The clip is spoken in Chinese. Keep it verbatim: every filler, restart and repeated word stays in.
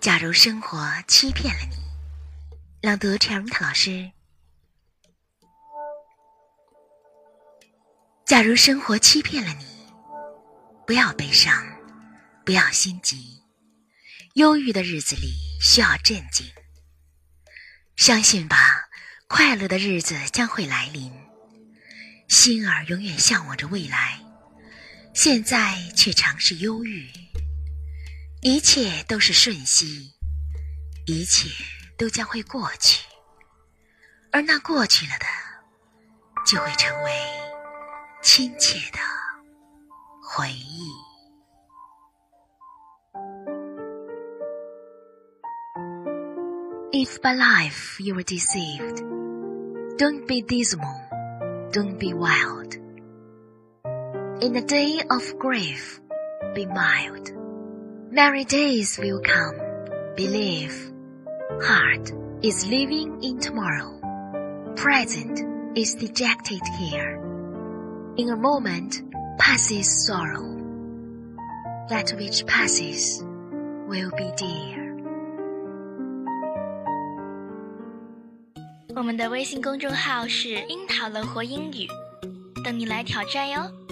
假如生活欺骗了你，朗读 Charlotte 老师。假如生活欺骗了你，不要悲伤，不要心急，忧郁的日子里需要镇静。相信吧，快乐的日子将会来临。心儿永远向往着未来，现在却常是忧郁。一切都是瞬息，一切都将会过去，而那过去了的，就会成为亲切的回忆。If by life you were deceived, don't be dismal, don't be wild. In the day of grief, be mild. Merry days will come, believe. Heart is living in tomorrow. Present is dejected here. In a moment passes sorrow. That which passes will be dear. 我们的微信公众号是樱桃乐活英语，等你来挑战哟。